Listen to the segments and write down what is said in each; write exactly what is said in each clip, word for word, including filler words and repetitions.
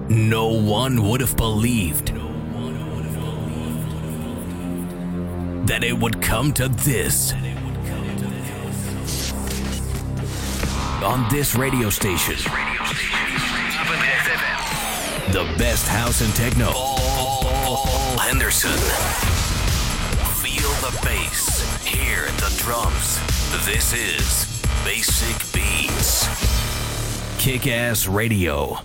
No one would have believed that it would come to this. On this radio station, the best house and techno. Paul Henderson. Feel the bass, hear the drums. This is Basic Beats. Kick-Ass Radio.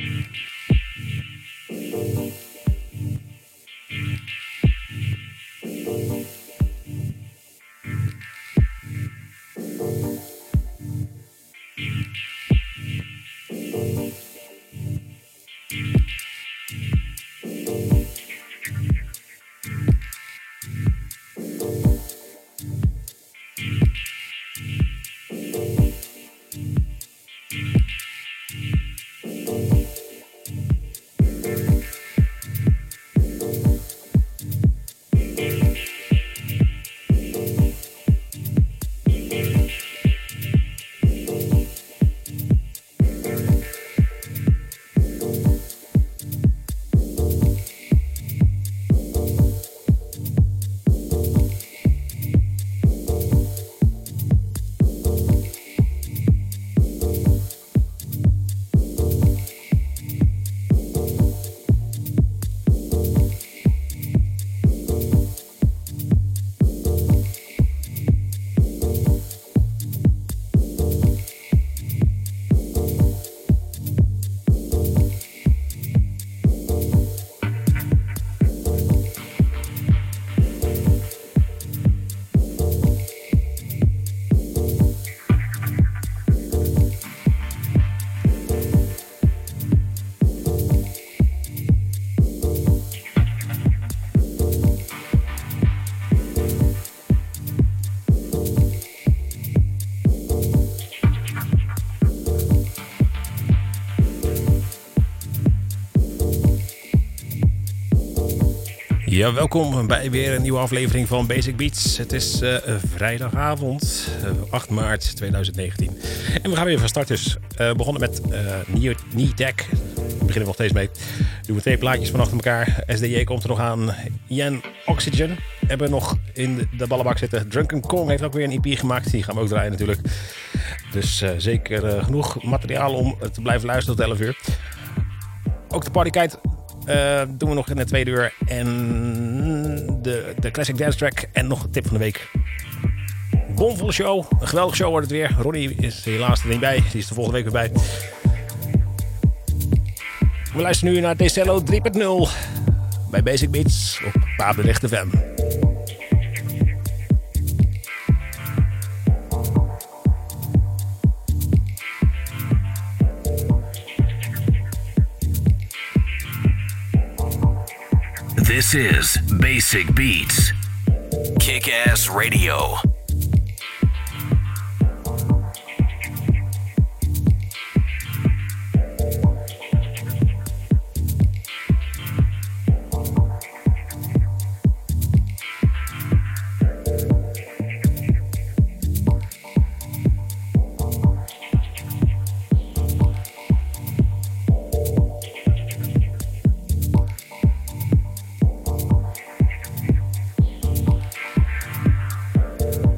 Ja, welkom bij weer een nieuwe aflevering van Basic Beats. Het is uh, vrijdagavond, uh, acht maart tweeduizend negentien. En we gaan weer van start dus. Uh, begonnen met uh, Knee Deck. Daar beginnen we nog steeds mee. Doen we twee plaatjes van achter elkaar. S D J komt er nog aan. Ian Oxygen. Hebben we nog in de, de ballenbak zitten. Drunken Kong heeft ook weer een E P gemaakt. Die gaan we ook draaien natuurlijk. Dus uh, zeker uh, genoeg materiaal om te blijven luisteren tot elf uur. Ook de partykite Uh, doen we nog in de tweede uur. En de, de classic dance track. En nog een tip van de week. Bomvolle show. Een geweldige show wordt het weer. Ronnie is helaas er niet bij. Die is de volgende week weer bij. We luisteren nu naar Decello drie punt nul. Bij Basic Beats op Papendrecht F M. This is Basic Beats. Kick-Ass Radio. We'll be right back.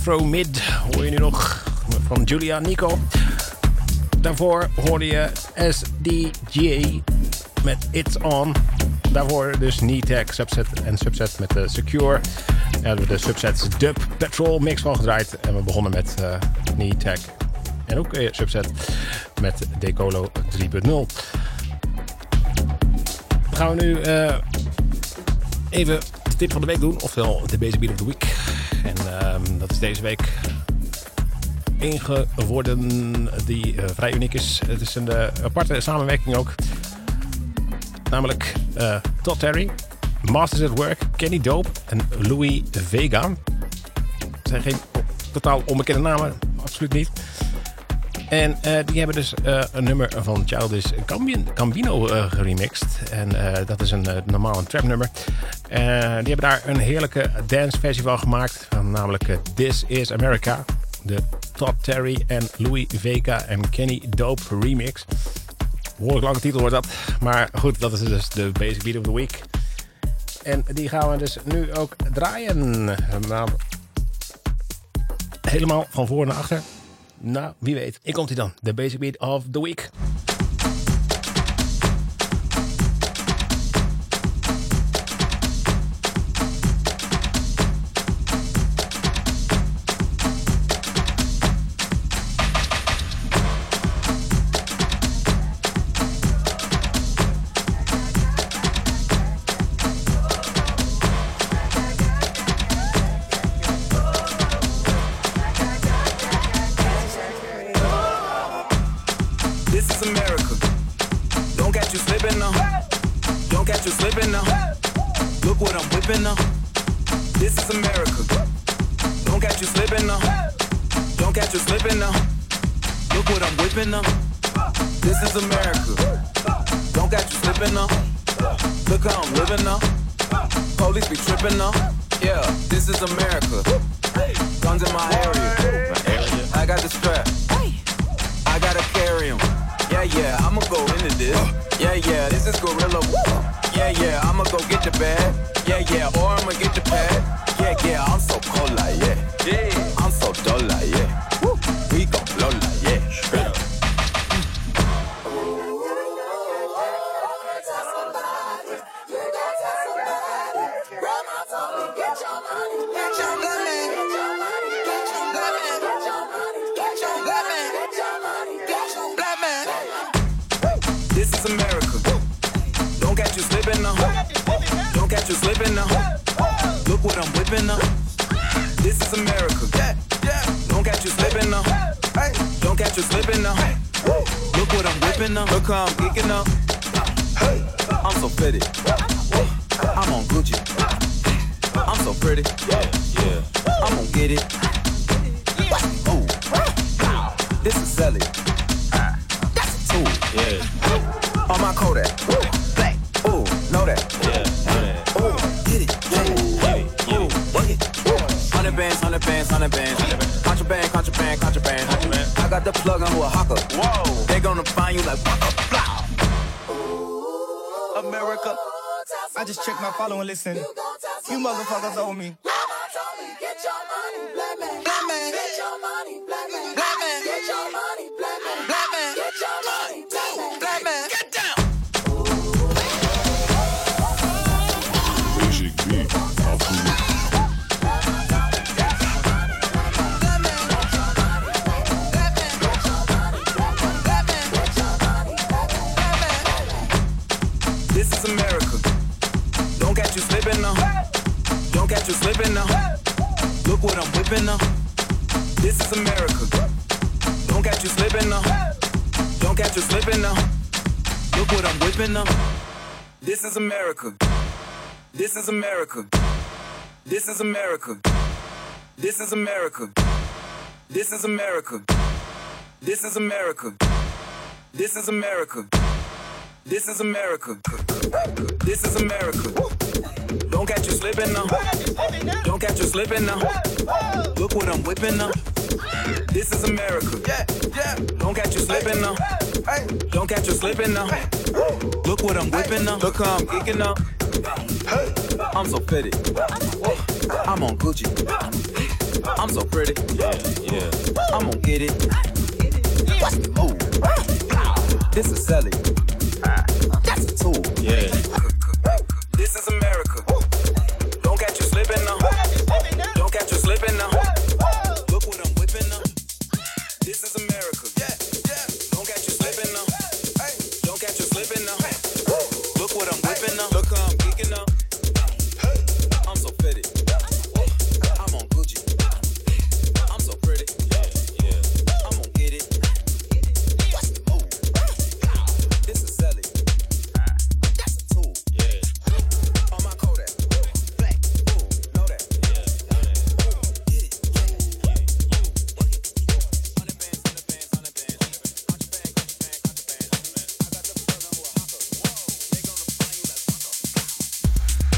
Afro Mid hoor je nu nog van Julia Nico. Daarvoor hoorde je S D J met It's On. Daarvoor dus Knee-Tech, Subset en Subset met de Secure. Daar hebben we de Subsets Dub Petrol mix van gedraaid. En we begonnen met uh, Knee-Tech en ook weer Subset met Decolo drie punt nul. Dan gaan we nu uh, even de tip van de week doen. Oftewel de Basic Beat of the Week. En uh, dat is deze week één geworden die uh, vrij uniek is. Het is een uh, aparte samenwerking ook. Namelijk uh, Todd Terry, Masters at Work, Kenny Dope en Louis Vega. Het zijn geen totaal onbekende namen, absoluut niet. En uh, die hebben dus uh, een nummer van Childish Gambino uh, geremixed. En uh, dat is een uh, normaal een trap nummer. Uh, die hebben daar een heerlijke dance versie van gemaakt. Van namelijk uh, This Is America. De Todd Terry en Louis Vega en Kenny Dope remix. Behoorlijk lange titel wordt dat. Maar goed, dat is dus de Basic Beat of the Week. En die gaan we dus nu ook draaien. Nou, helemaal van voor naar achter. Nou, wie weet. Hier komt hij dan. De Basic Beat of the Week. Listen, you motherfuckers owe me. Get your money, black man. Black man. Get your money, black man. Black man. Get your money, black man. Black man. Get your money, black man. Black man. Get down. Basic Beat of the Week. This is America. Don't catch you slipping now. Don't catch you slipping now. Look what I'm whipping now. This is America. Don't catch you slipping now. Don't catch you slipping now. Look what I'm whipping now. This is America. This is America. This is America. This is America. This is America. This is America. This is America. This is America. This is America. Don't catch you slipping now. Don't catch you slipping now. Look what I'm whipping now. This is America. Don't catch you slipping now. Don't catch you slipping now. Look what I'm whipping now. Look how I'm geeking now. I'm so fitted. I'm on Gucci. I'm so pretty. Yeah, yeah. I'm gonna get it. Ooh. This is Sally. That's a tool. Yeah. This is America. Don't catch you slipping now. Don't catch you slipping now. Look what I'm whipping now. This is America. Don't catch you slipping now. Don't catch you slipping now. Look what I'm whipping now. Look how I'm geeking now. I'm so fitted. I'm on Gucci. I'm so pretty. Yeah, yeah. I'm gonna get it. Ooh. This is Sally. That's a tool. Yeah. On my Kodak. Black. Ooh, know that. Yeah. Get it. Hundred bands, hundred bands, hundred bands. Out your bag, out your bag, out your bag. I got the brother who a hawker. They gonna find you like fucker.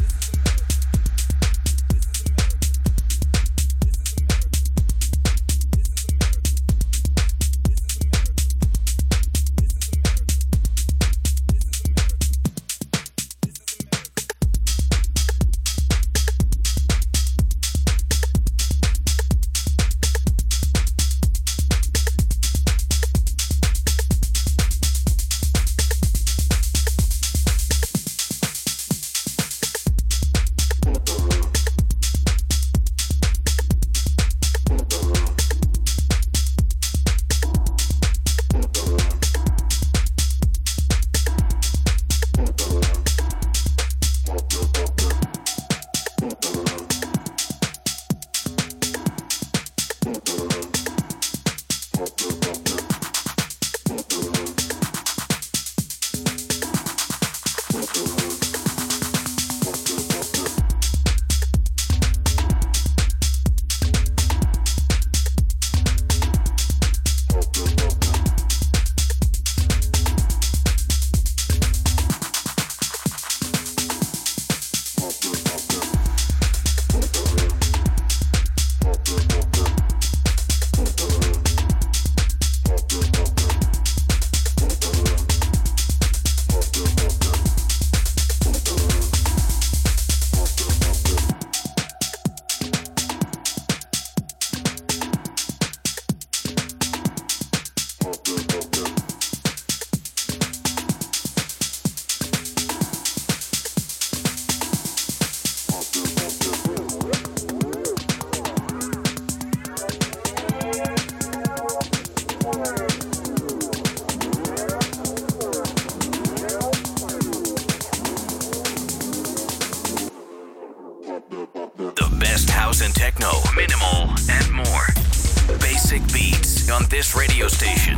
And techno, minimal, and more. Basic Beats on this radio station.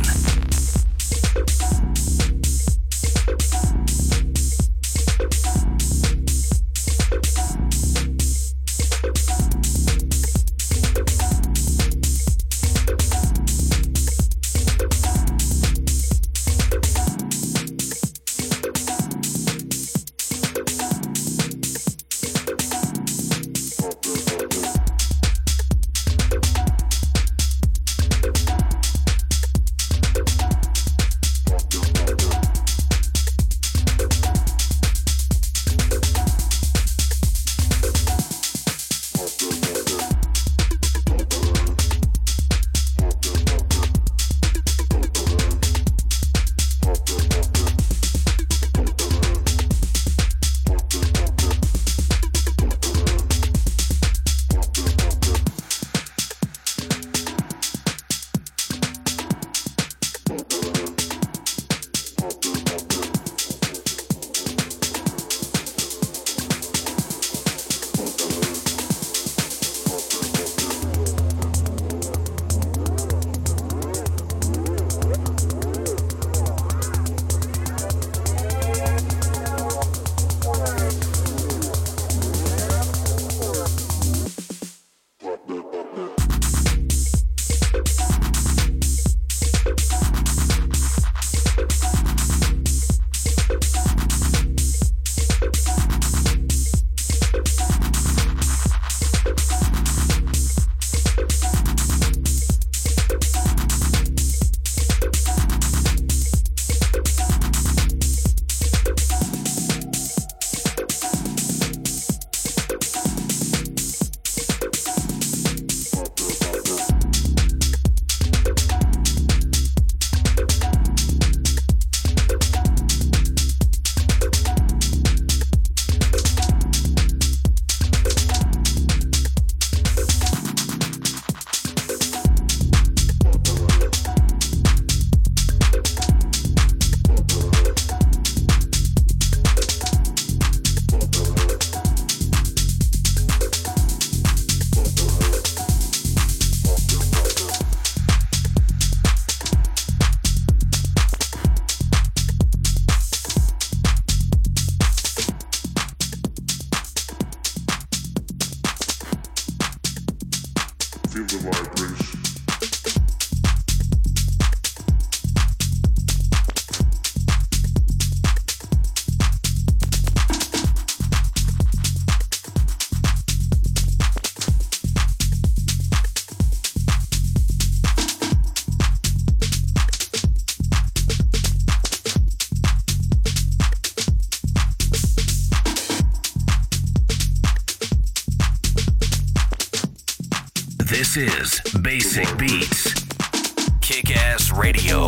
This is Basic Beats. Kick-Ass Radio.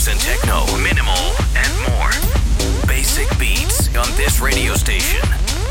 house and techno, minimal and more. Basic beats on this radio station.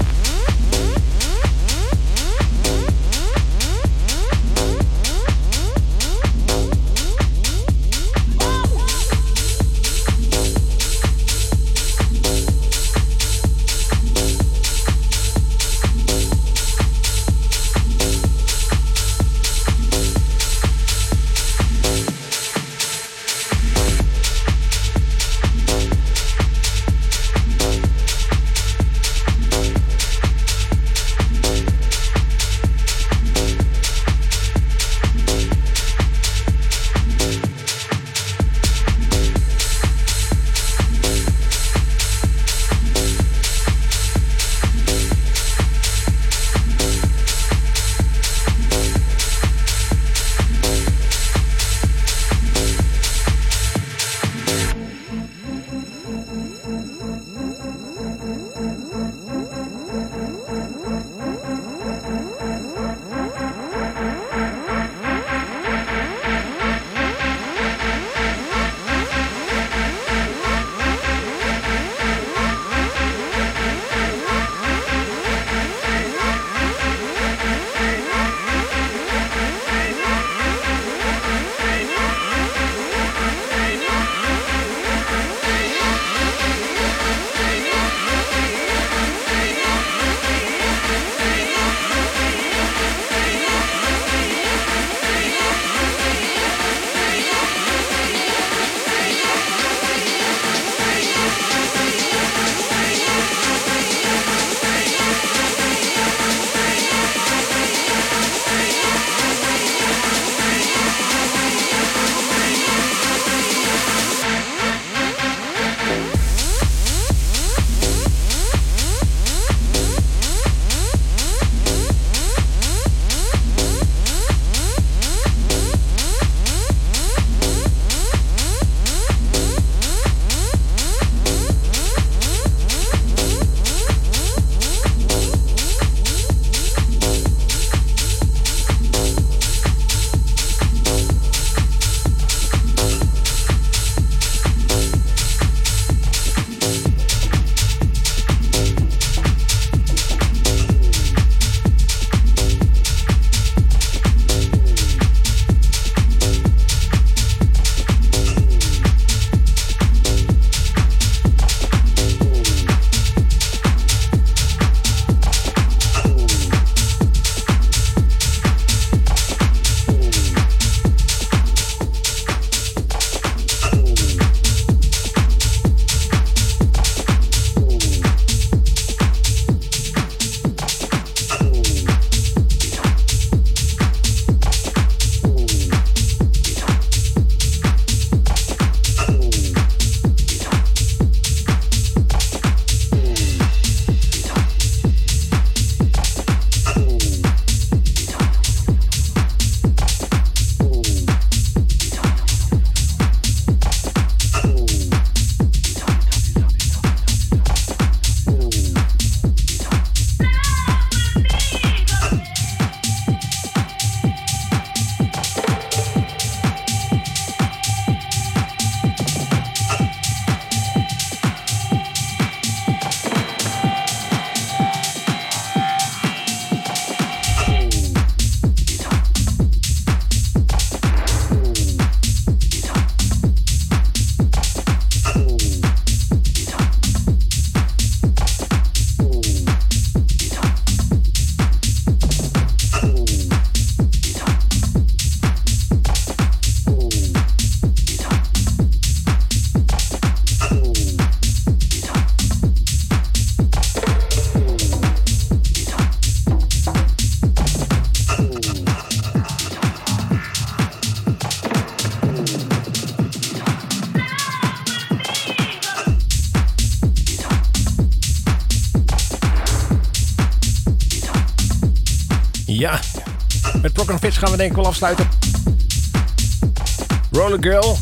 Ja, met Prokofjev gaan we denk ik wel afsluiten. Roller Girl,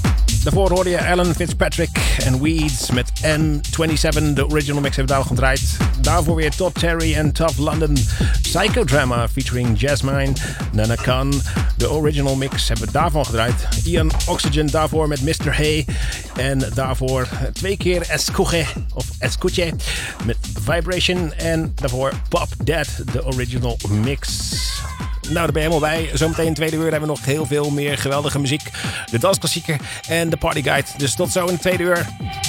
Daarvoor hoorde je Alan Fitzpatrick en Weeds met N zevenentwintig. De original mix hebben we daar al gedraaid. Daarvoor weer Todd Terry en Tough London. Psychodrama featuring Jasmine. Nana Khan. De original mix hebben we daarvan gedraaid. Ian Oxygen daarvoor met mister Hay. En daarvoor twee keer Escuche of Escuche met Vibration. En daarvoor Pop Dead, de original mix. Nou, daar ben je helemaal bij. Zometeen in de tweede uur hebben we nog heel veel meer geweldige muziek. De dansklassieker en de partyguide. Dus tot zo in de tweede uur.